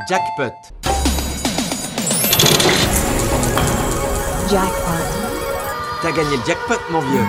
Jackpot. Jackpot. T'as gagné le jackpot, mon vieux.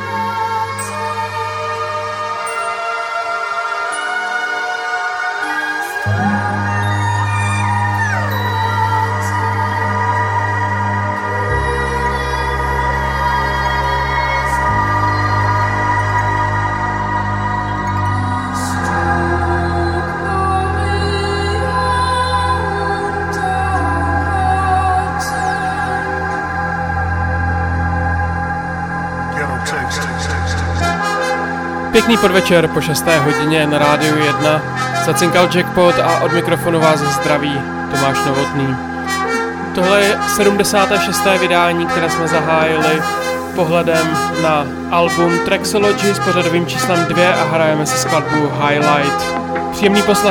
Pěkný podvečer po 6. hodině na Rádiu 1. Zacinkal Jackpot a od mikrofonu vás zdraví Tomáš Novotný. Tohle je 76. vydání, které jsme zahájili pohledem na album Traxology s pořadovým číslem 2 a hrajeme si skladbu Highlight. Příjemný poslech.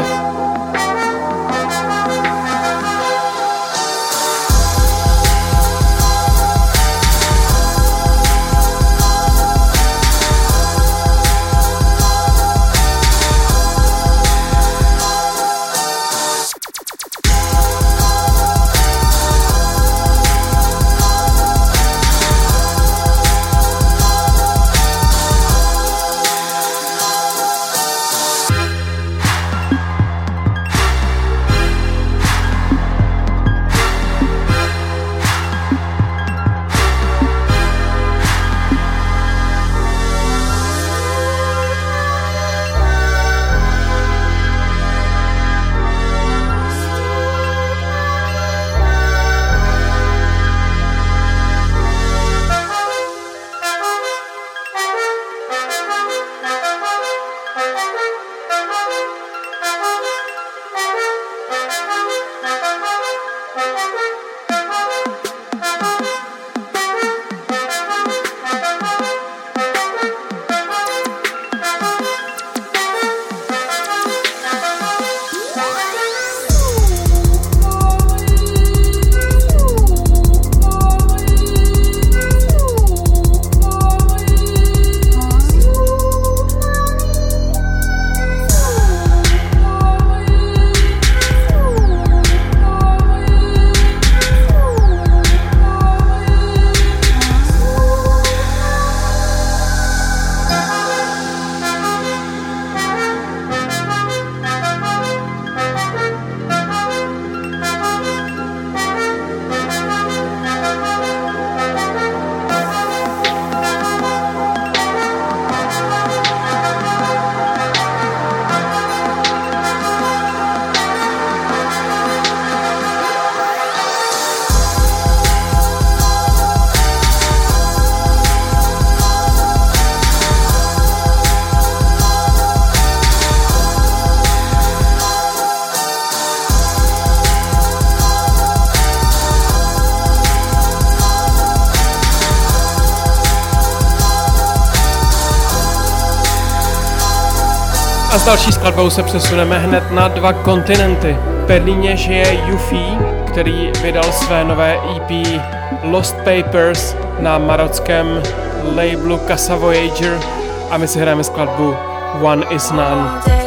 A s další skladbou se přesuneme hned na 2 kontinenty. V Berlíně žije Yuffie, který vydal své nové EP Lost Papers na marockém labelu Casa Voyager a my si hrajeme skladbu One Is None.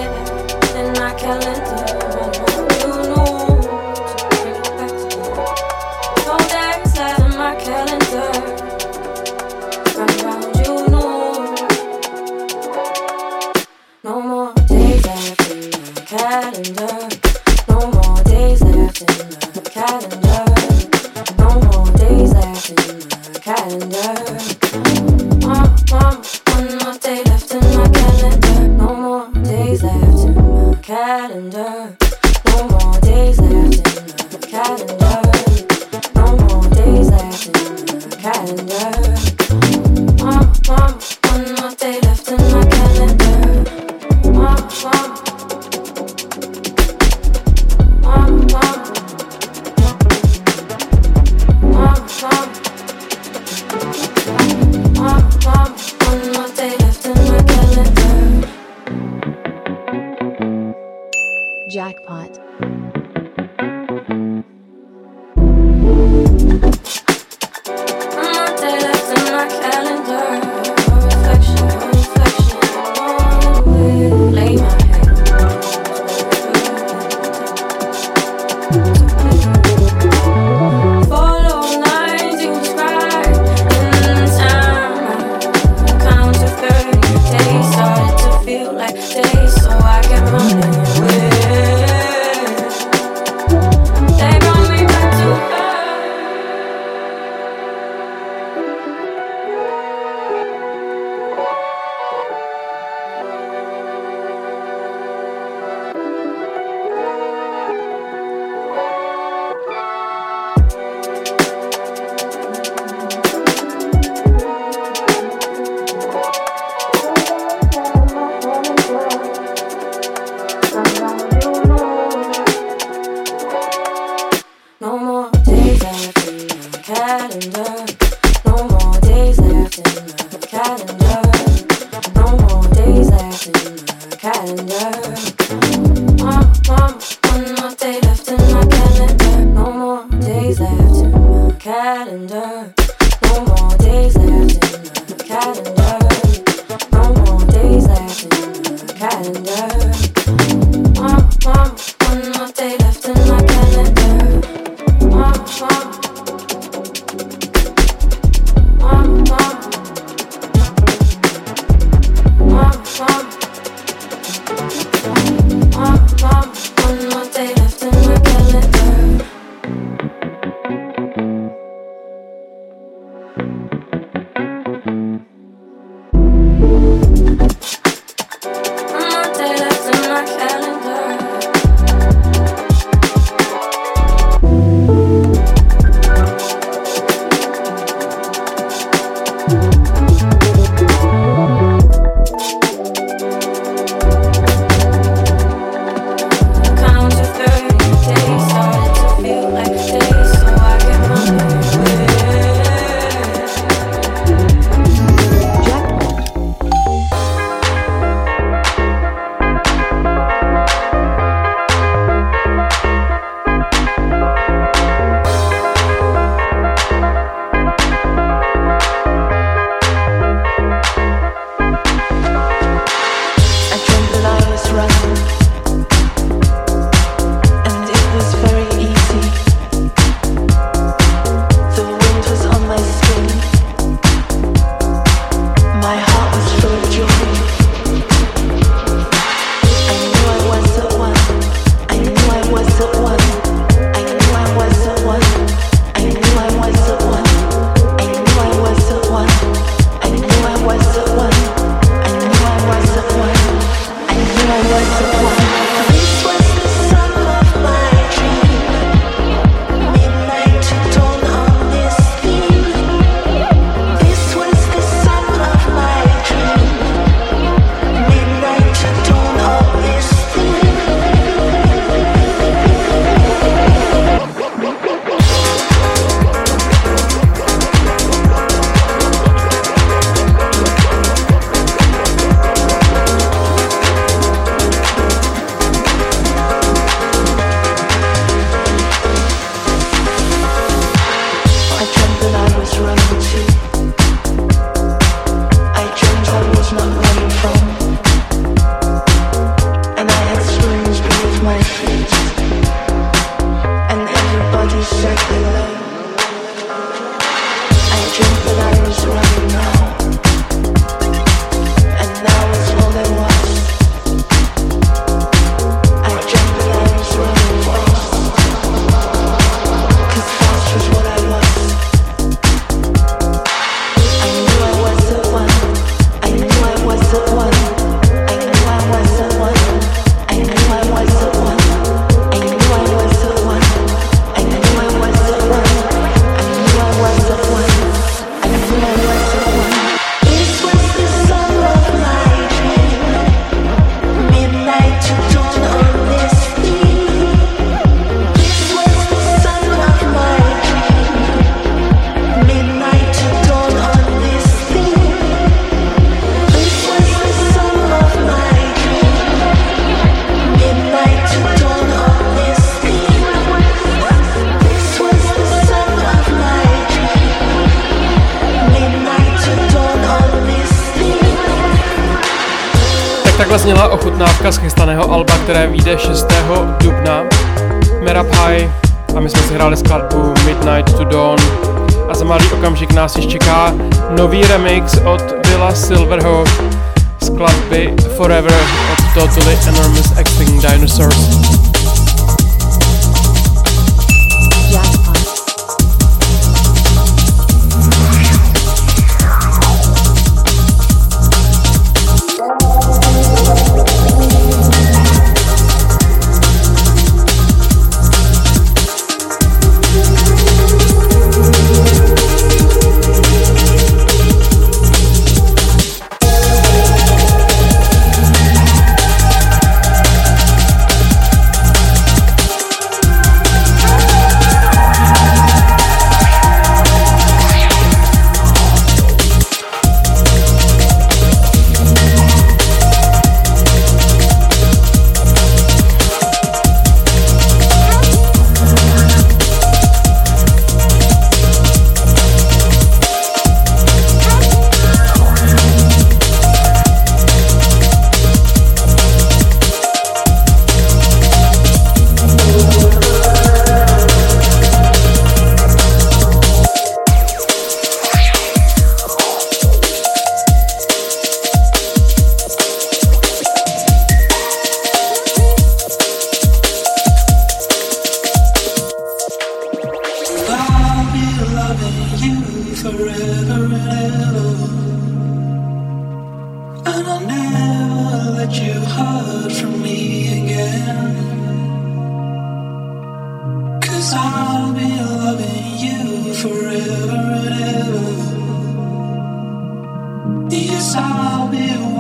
Jackpot. Takhle zněla ochutnávka z chystaného alba, které vyjde 6. dubna. Merab High a my jsme si hráli skladbu Midnight to Dawn. A za malý okamžik nás již čeká nový remix od Willa Silverho skladby Forever od Totally Enormous Extinct Dinosaurs.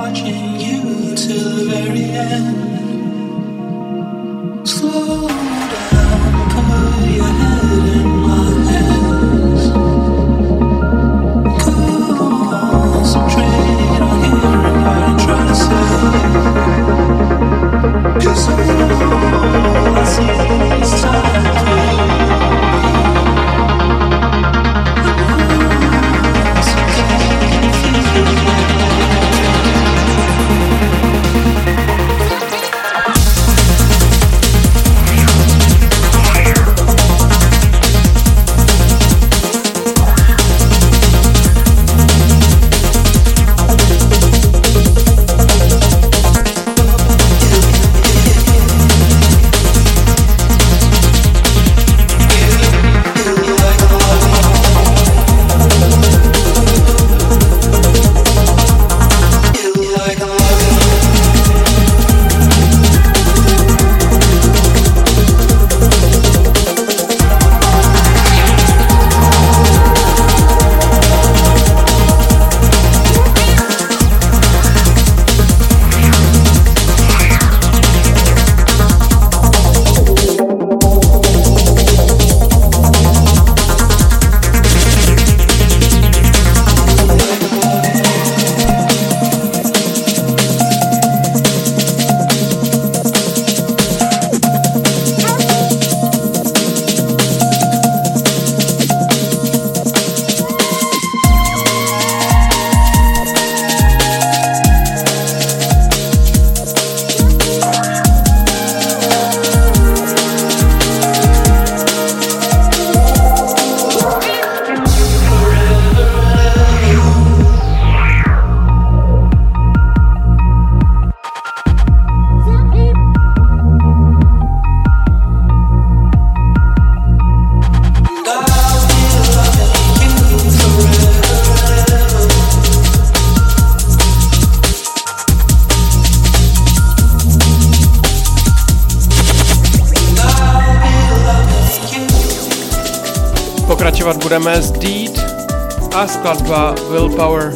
Pokračovat budeme s Deed a skladba Willpower.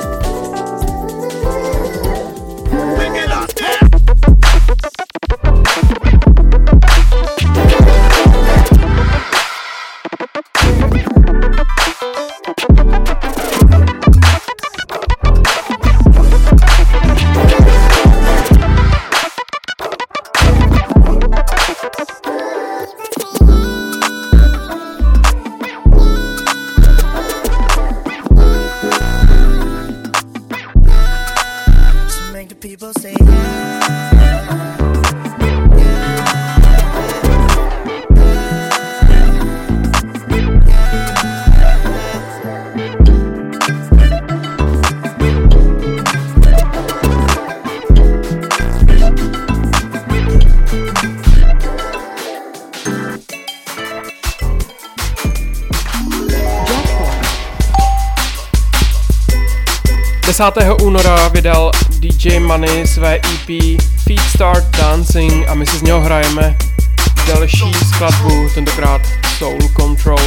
Února vydal DJ Money své EP Feet Start Dancing a my si z něho hrajeme další skladbu, tentokrát Soul Control.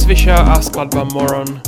Swisha a skladba Moron.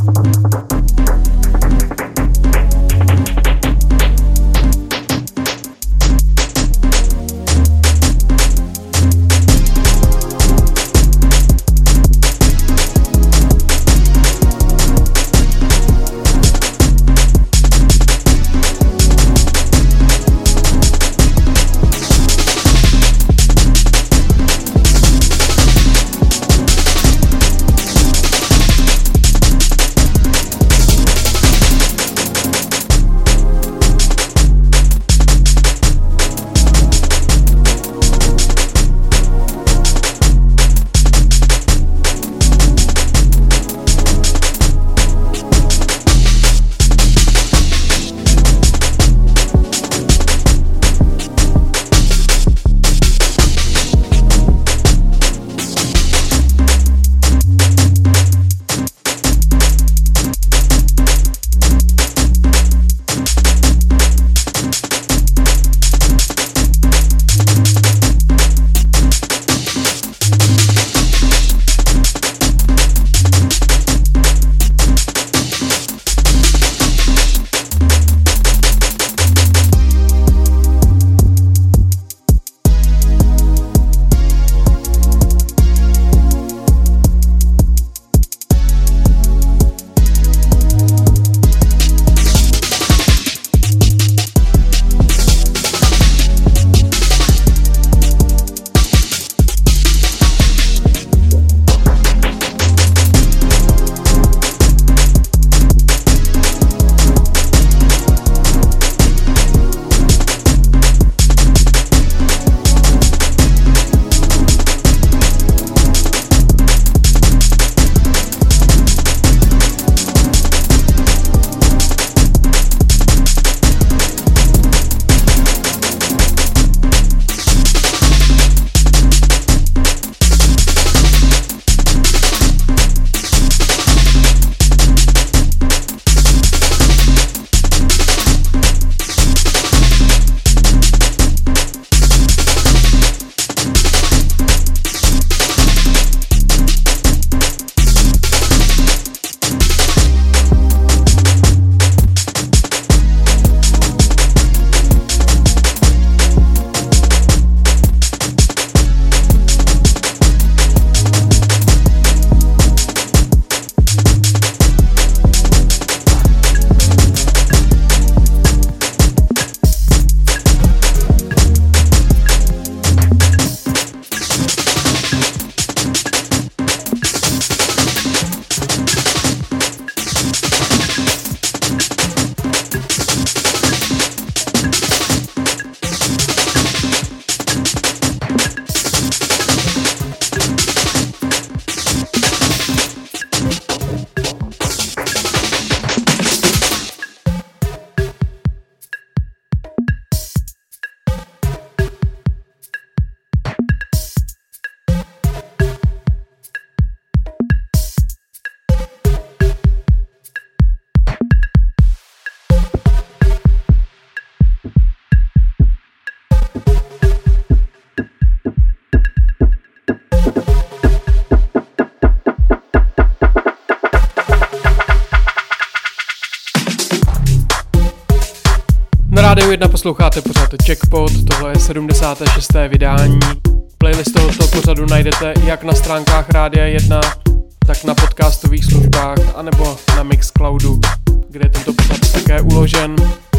Rádiu 1 posloucháte pořád Jackpot, tohle je 76. vydání. Playlist tohoto pořadu najdete jak na stránkách Rádia 1, tak na podcastových službách, anebo na Mixcloudu, kde je tento pořad také uložen.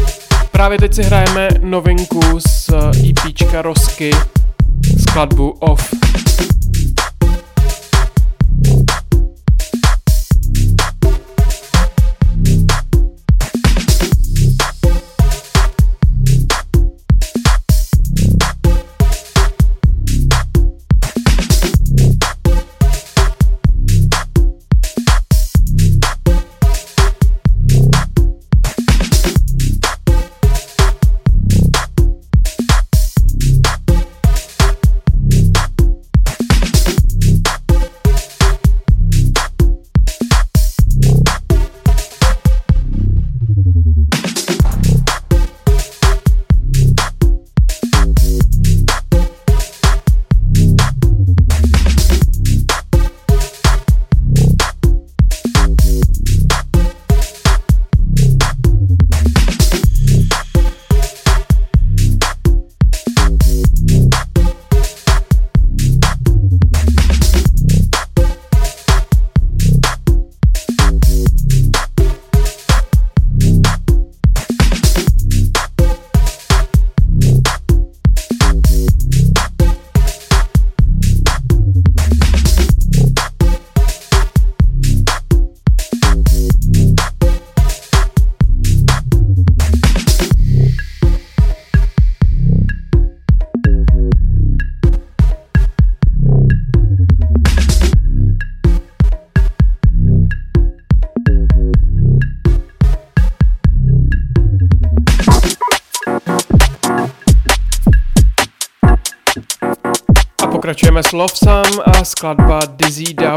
Právě teď si hrajeme novinku z EPčka Rosky, skladbu Off. Pokračujeme s Lovesam a skladba Dizzy Dub.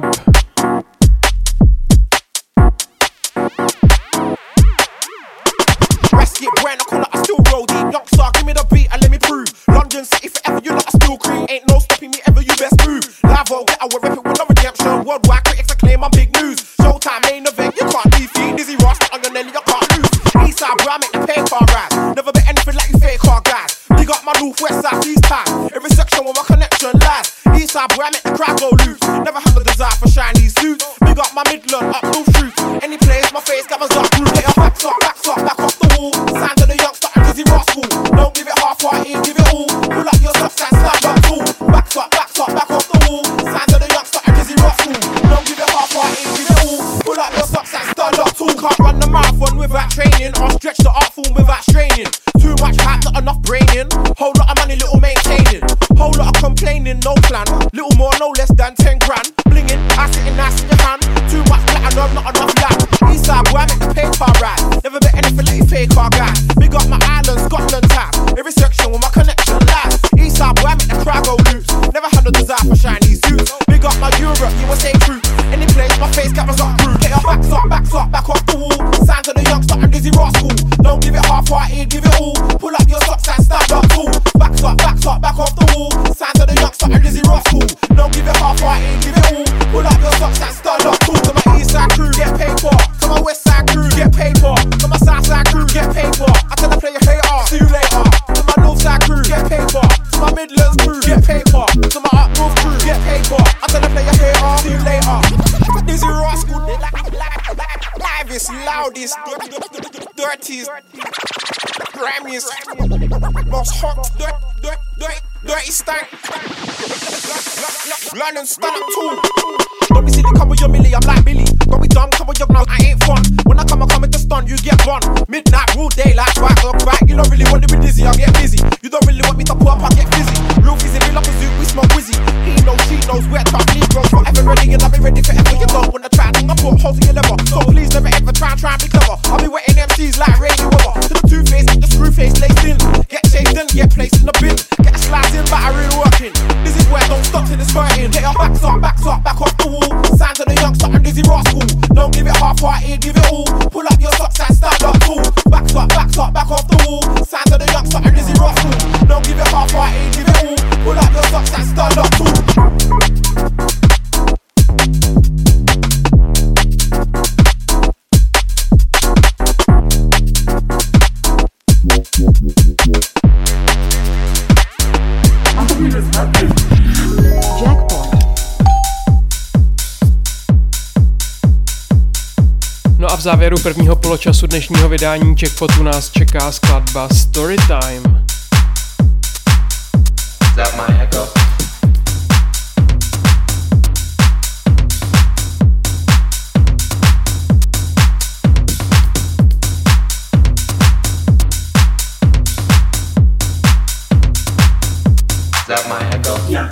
Get brand, I call it, I still roll deep. Young star, give me the beat and let me prove. London City forever, you lot are still cream. Ain't no stopping me ever, you best move. Live out, get out, rep it with no redemption. Worldwide critics acclaim, I'm big news. Showtime, main event, you can't defeat. Dizzy Ross, I'm gonna you can't lose. Eastside, bro, I make the pay car ride. Never bet anything like you fake car guys. Big up my north, west side, east time. Every section where my connection lies. Eastside, bro, I make the crowd go loose. Never had the desire for shiny suits. Big up my Midland, up North Street. Any place, my face got my dark blue. Get your backs up, back off the wall. Signs of the youngster and Dizzy Rascal. Don't give it half-hearted, give it all. Pull up your socks and stand up tall. Backs up, back off the wall. Signs of the youngster and Dizzy Rascal. Don't give it half-hearted, give it all. Pull up your socks and stand up tall. Can't run the marathon without training, or stretch the art form without straining. Too much hype, not enough braining. Whole lot of money, little maintaining. Whole lot of complaining, no plan. Little more, no less than 10 grand. Blinging, I sitting nice in your hand. Too much platinum, not enough land. Eastside, boy, I make the paper ride. Never bet anything like you fake car guy. Big up my island, Scotland time. Every section with my connection lies. Eastside, boy, I make the crowd go loose. Never had no desire for shiny suits. Big up my Europe, USA crew. Any place, my face cameras up through. Get your backs up, back off the wall. Signs of the youngster and Dizzy Rascal. Don't give it half-hearted, give it all. Pull up your socks and stand up tall. Backs up, back off the wall. Signs of the youngster and Dizzy Rascal. Don't give it half-hearted, give it all. Pull up your socks and stand up tall. To my east side crew, get paid for. To my west side crew, get paid for. To my south side crew, get paid for. I tell the player, hey, see you later. To my north side crew, get paid for. To my Midlands crew, get paid for. To my up north crew, get paid for. I tell the player, hey, see you later. Dizzy Rascal, livest, loudest, dirtiest, grimiest, most hot, dirty stank. London stand up tall. Don't be silly, come with your millie, I'm like Billy. Don't be dumb, come with your gnome, I ain't fun. When I come with the stun, you get gone. Midnight, rule daylight, back up, back. You don't really want to be dizzy, I get busy. You don't really want me to pull up, I get busy. Real fizzy, real up a zoo, we smoke whizzy. He knows, she knows, we're tough, Negroes. Forever ready, and I'll be ready forever. You don't wanna try, I put holes in your lever. So please never ever try and be clever. I'll be wetting MCs like rainy weather. To the two-face, get the screw face laced in. Get shaved in, get placed in the bin. Get a slice in, battery working. This is where don't stop till it's hurting. Get your backs up, back off the wall. Signs of the youngster and Dizzy Rascal. Don't give it half-hearted, give it all. Pull up your socks and stand up tall. Backs up, back off the wall. Signs of the youngster and Dizzy Rascal. Don't give it half-hearted, give it all. Pull up your socks and stand up tall. No a v závěru prvního poločasu dnešního vydání Jackpotu nás čeká skladba Storytime. Is that my echo? Is that my echo? Yeah.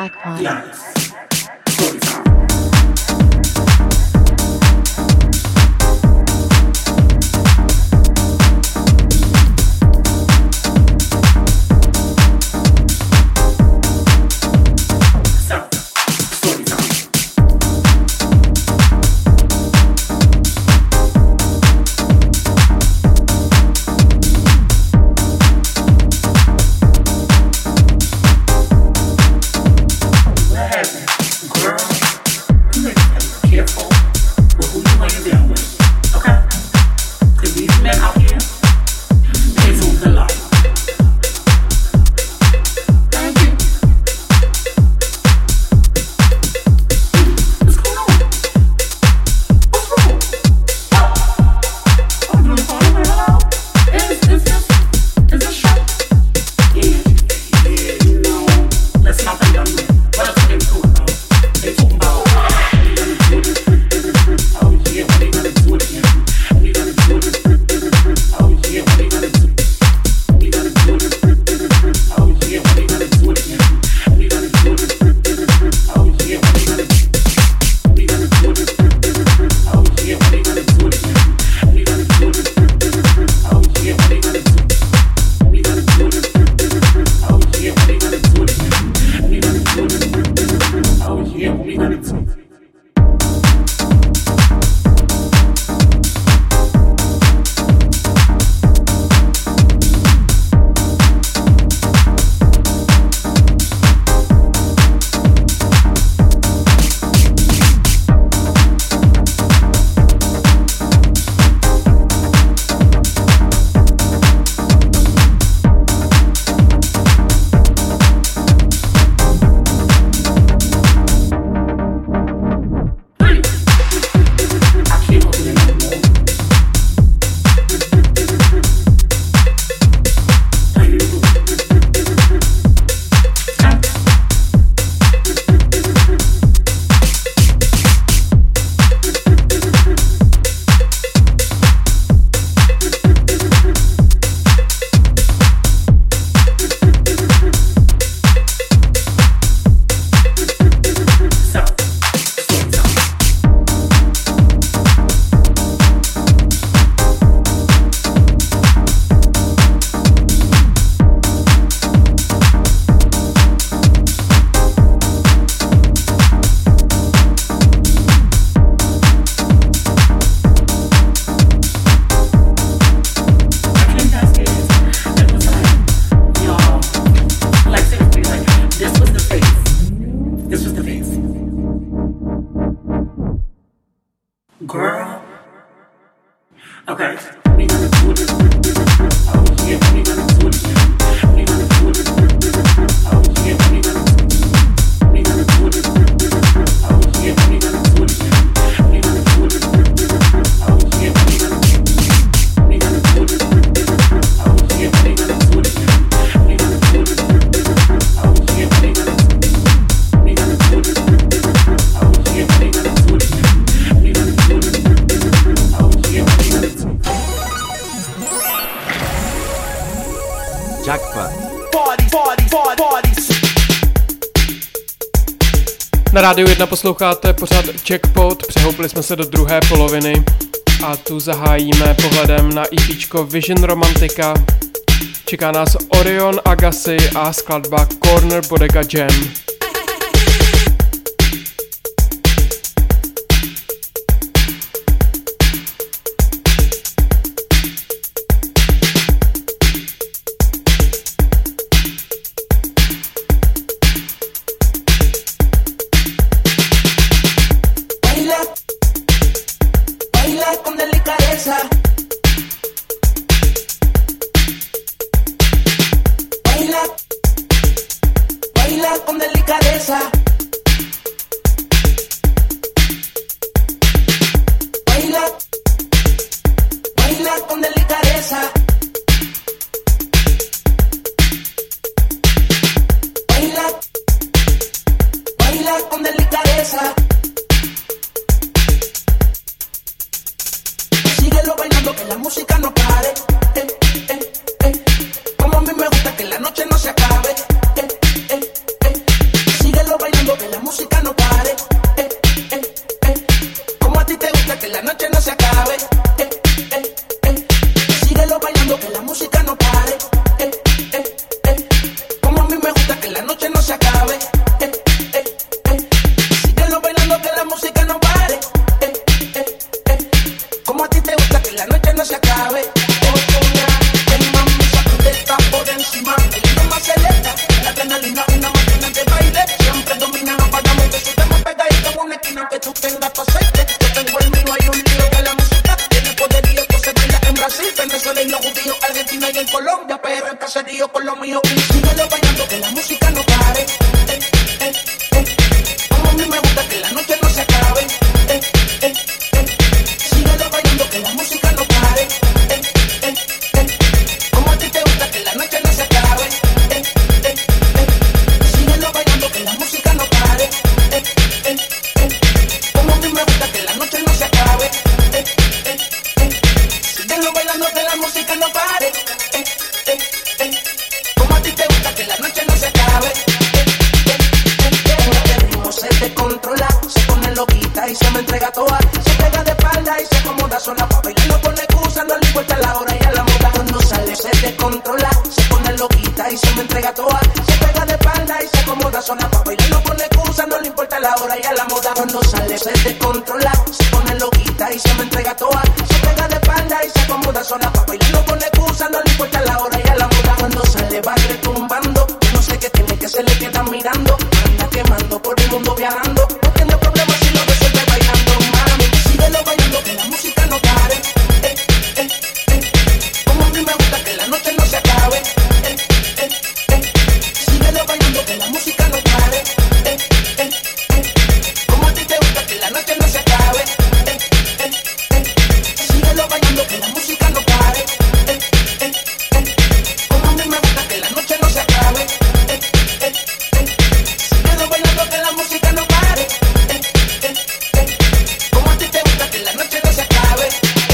Jackpot. Na Rádiu 1 posloucháte pořád Jackpot, přehoupli jsme se do druhé poloviny a tu zahájíme pohledem na EPčko Vision Romantica. Čeká nás Orion Agassi a skladba Corner Bodega Jam. Como a mí me gusta que la noche no se acabe. Síguelo bailando. tenga tu aceite. Yo tengo el mío, hay un lío que la música tiene poderío. Entonces baila en Brasil, Venezuela y los judíos, Argentina y en Colombia, pero el caserío con lo mío. Y síguelo bailando que la música no pare. Como a mí me gusta que la noche no se acabe. Síguelo bailando que la música no pare. Como a ti te gusta que la noche no se acabe. Síguelo bailando que la música no pare. Como a mí me gusta que la noche no se acabe. Síguelo bailando que la música no pare. Como a ti te gusta que la noche no se acabe. El ritmo se descontrola, se pone loquita y se me entrega toda. Se pega de espalda y se acomoda sola pa' bailar, no pone excusa, no le importa la hora y a la moda. Cuando sale se descontrola, se pone loquita y se me entrega toda. Se pega de espalda y se acomoda sola pa' bailar, no pone excusa, no le importa la hora y a la moda. Cuando sale se descontrola, se pone loquita y se me entrega toda. Se pega de espalda y se acomoda sola pa' bailar, no pone excusa, no le importa la hora y a la moda. Cuando sale va retumbando, no sé qué tiene que se le queda mirando. Anda quemando por el mundo viajando, no tiene problemas si lo resuelve bailando. Mami, síguelo bailando que la música no pare. Como a mí me gusta que la noche no se acabe. Síguelo bailando que la música no pare. Como a ti te gusta que la noche no se acabe. Síguelo bailando que la música no pare. Como a mí me gusta que la noche no se acabe. Síguelo bailando que la música no pare. Como a ti te gusta que la noche no se acabe.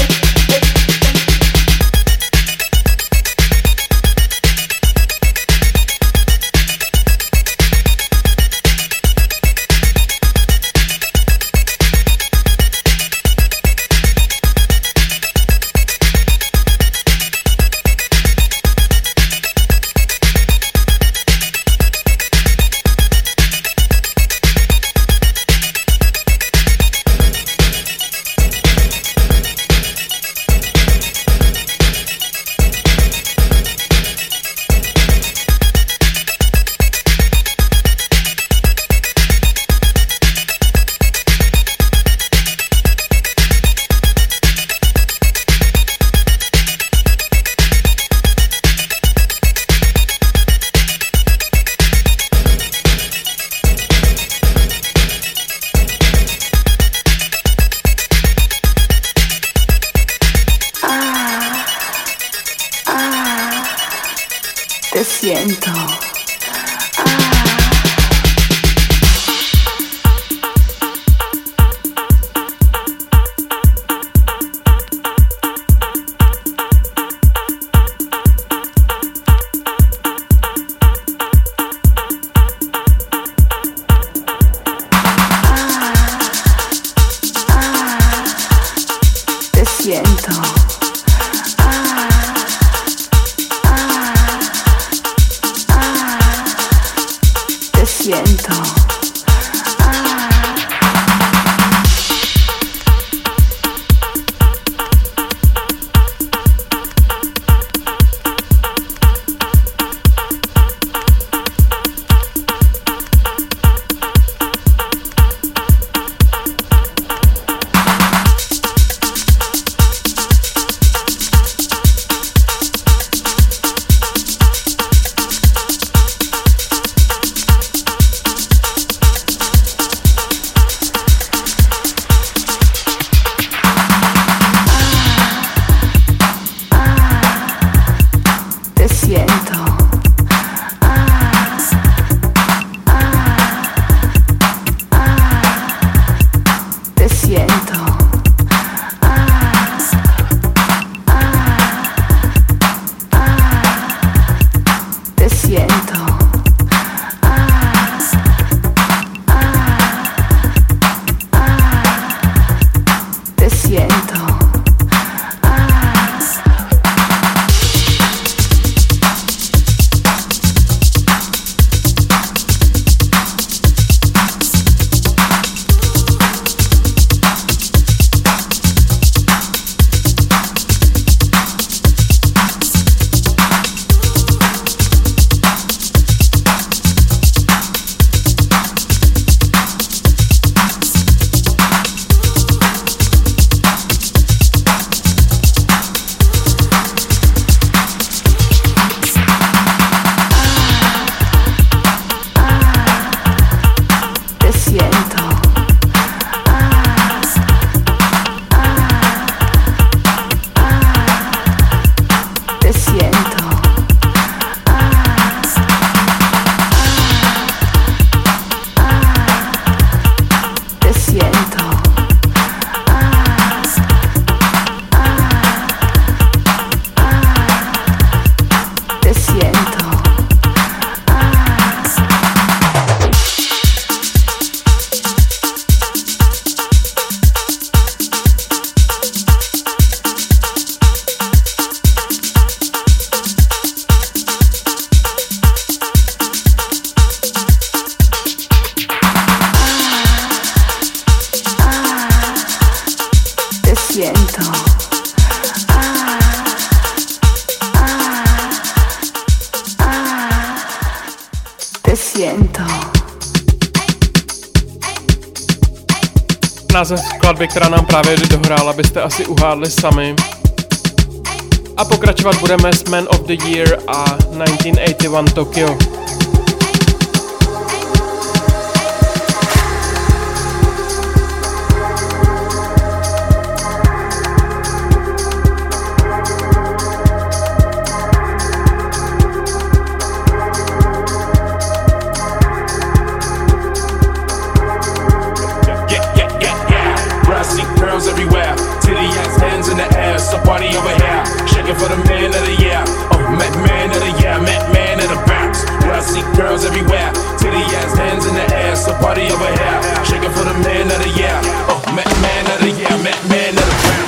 Te siento. Te siento. Te siento. siento. Te siento. Název skladby, která nám právě dohrála, byste asi uhádli sami. A pokračovat budeme s Man of the Year a 1981 Tokyo. Everywhere, titty ass hands in the air, so party over here, shaking for the man of the year. Oh, man of the year, man of the bounce. Where I see girls everywhere, titty ass hands in the air, so party over here, shaking for the man of the year. Oh, man of the year, man of the bounce.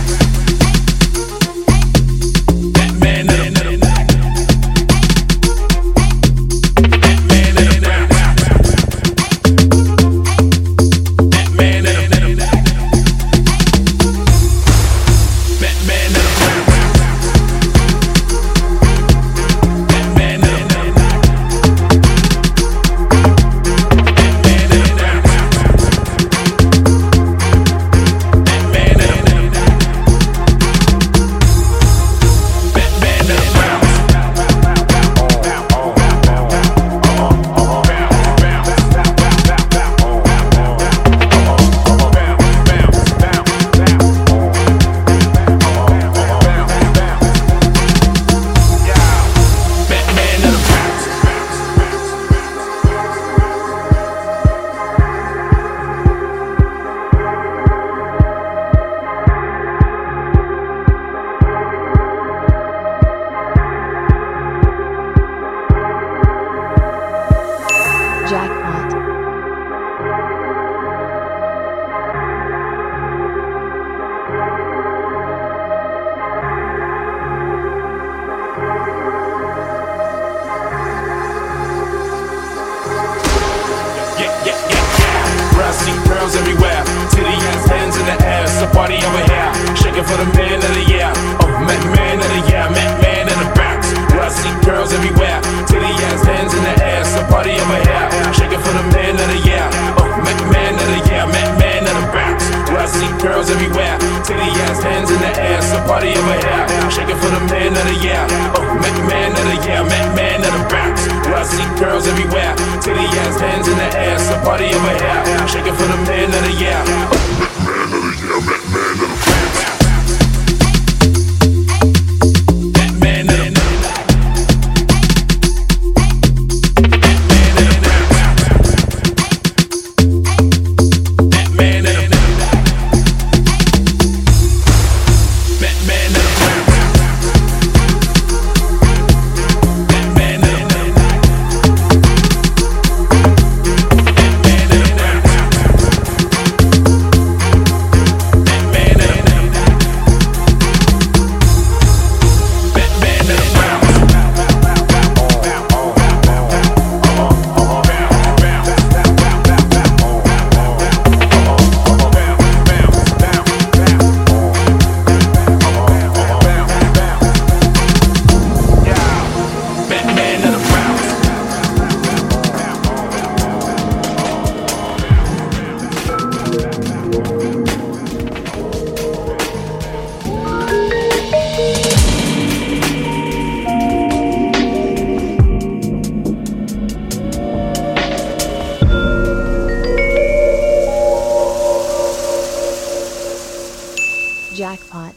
Jackpot.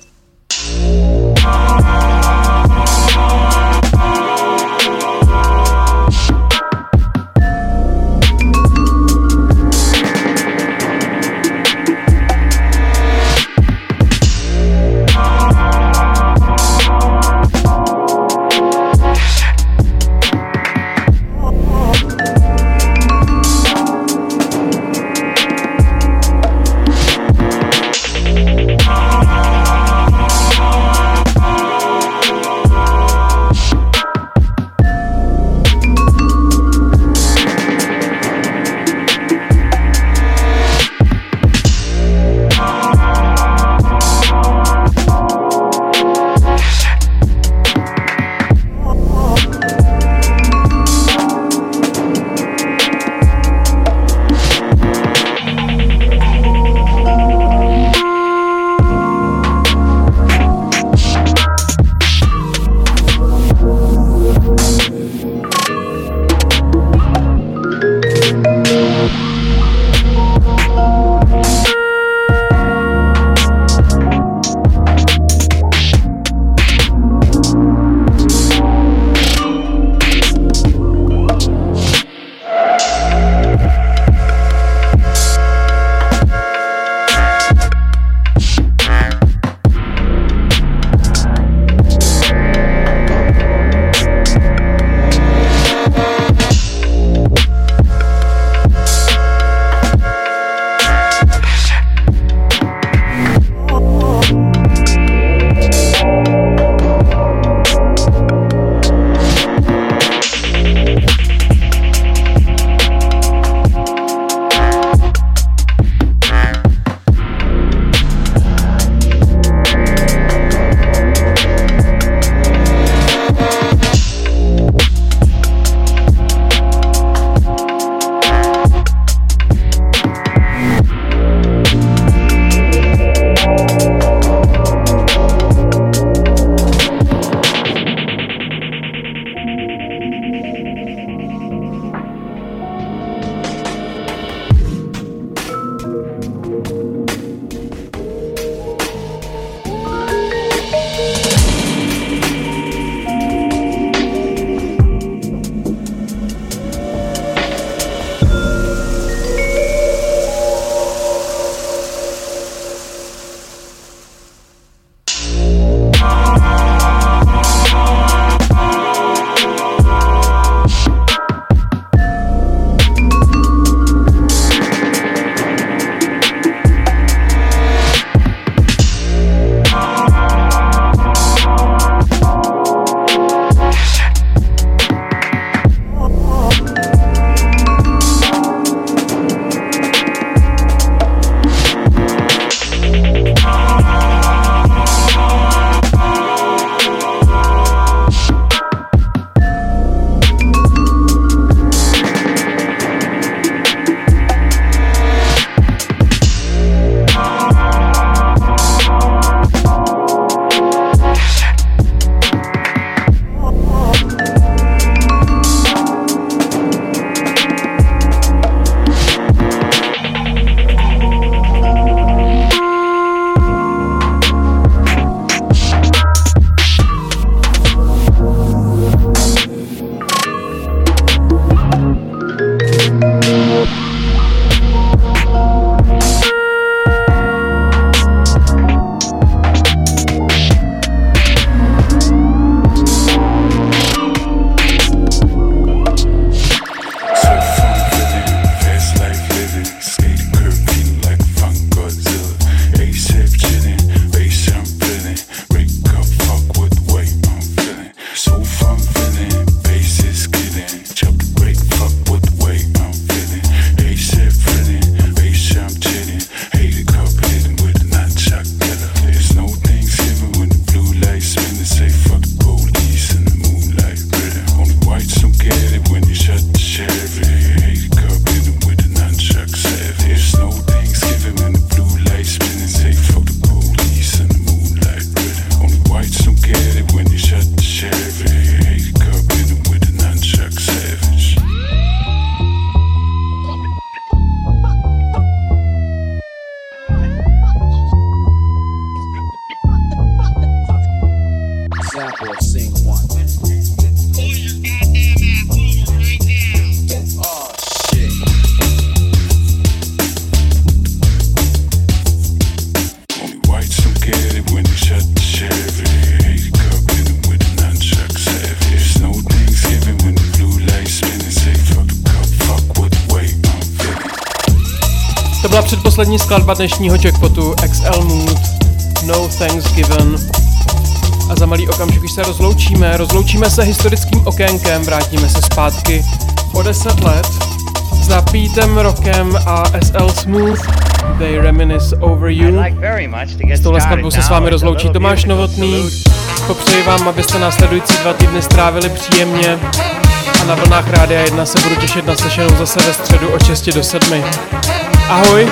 byla předposlední skladba dnešního Jackpotu XL Mood, No Thanksgiving. A za malý okamžik už se rozloučíme se historickým okénkem, vrátíme se zpátky o 10 let s napítem rockem a SL Smooth, They Reminisce Over You. S touhle skladbou se s vámi rozloučí Tomáš Novotný. Popřeji vám, abyste následující 2 týdny strávili příjemně a na vlnách Rádia 1 se budu těšit na slyšenou zase ve středu od 6 do 7. Ahoj!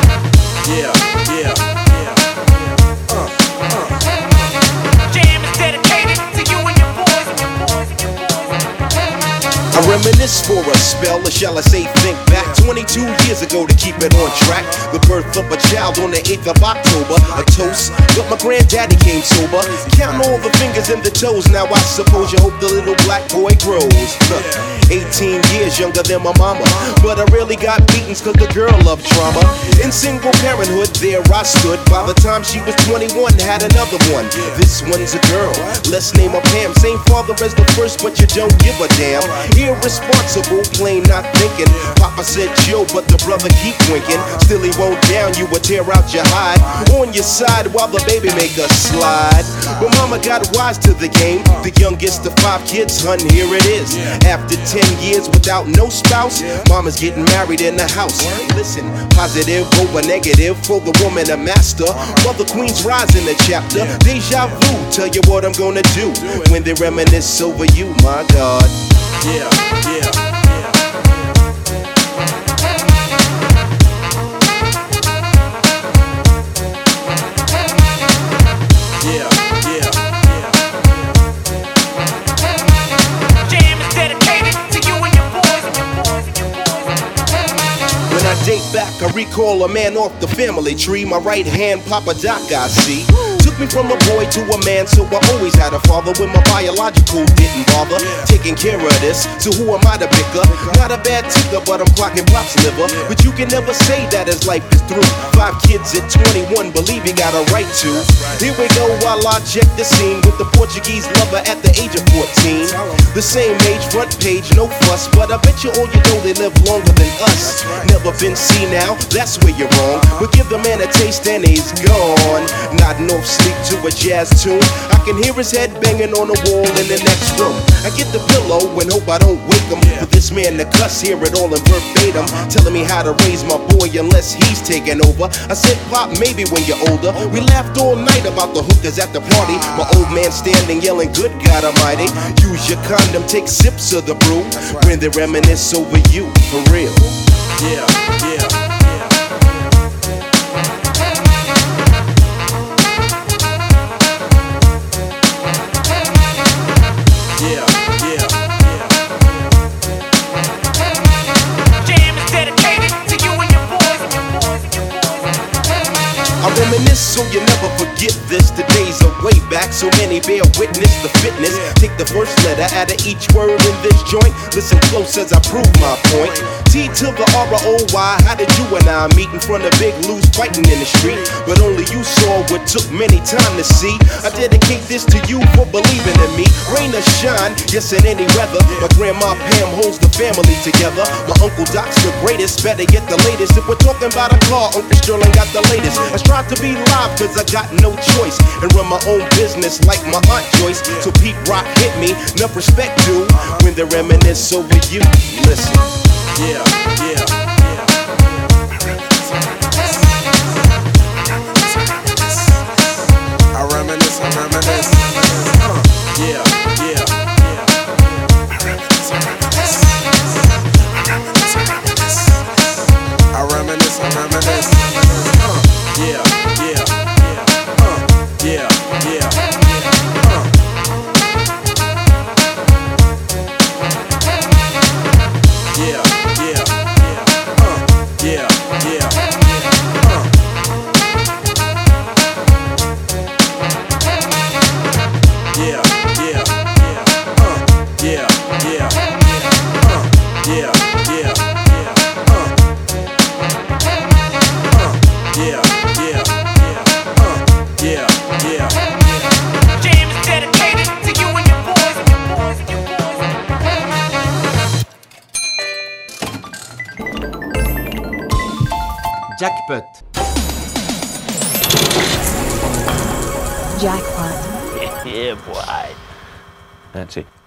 I reminisce for a spell, or shall I say think back 22 years ago to keep it on track. The birth of a child on the 8th of October. A toast, but my granddaddy came sober. Count all the fingers and the toes. Now I suppose you hope the little black boy grows. 18 years younger than my mama, but I really got beatings cause the girl loved drama. In single parenthood, there I stood. By the time she was 21, had another one. This one's a girl, let's name her Pam. Same father as the first, but you don't give a damn. Irresponsible, plain not thinking. Papa said Joe, but the brother keep winking. Still he won't down, you would tear out your hide. On your side while the baby make a slide. But mama got wise to the game. The youngest of 5 kids, hun, here it is. After 10 years without no spouse, mama's getting married in the house. Listen, positive over negative for the woman a master. Mother Queen's rise in the chapter. Deja vu, tell you what I'm gonna do when they reminisce over you, my God. Yeah. Date back, I recall a man off the family tree. My right hand, Papa Doc, I see. Took me from a boy to a man, so I always had a father when my biological didn't bother taking care of this. So who am I to pick up? Not a bad ticker, but I'm clocking Pop's liver. But you can never say that his life is through. 5 kids at 21, believe he got a right to. Here we go while I check the scene with the Portuguese lover at the age of 14. The same age, front page, no fuss, but I bet you all you know they live longer than us. Never been seen now, that's where you're wrong. But give the man a taste and he's gone. Nodding off sleep to a jazz tune. I can hear his head banging on the wall in the next room. I get the pillow and hope I don't wake him. For this man to cuss, hear it all in verbatim, telling me how to raise my boy unless he's taking over. I said, Pop, maybe when you're older. We laughed all night about the hookers at the party. My old man standing yelling, good God Almighty. Use your condom, take sips of the brew when they reminisce over you, for real. Yeah. I reminisce so you never forget this. The days are way back, so many bear witness the fitness. Take the first letter out of each word in this joint. Listen close as I prove my point. T to the R-O-Y, how did you and I meet in front of Big Lou's fighting in the street? But only you saw what took many time to see. I dedicate this to you for believing in me. Rain or shine, yes in any weather. My grandma Pam holds the family together. My Uncle Doc's the greatest, better get the latest. If we're talking about a car, Uncle Sterling got the latest. I strive to be live cause I got no choice and run my own business like my Aunt Joyce. So Pete Rock hit me, enough respect due when they reminisce over you. Listen. Yeah. I reminisce. Yeah. I reminisce. Yeah. Yeah. Jackpot. Jackpot. Yeah, boy. That's it.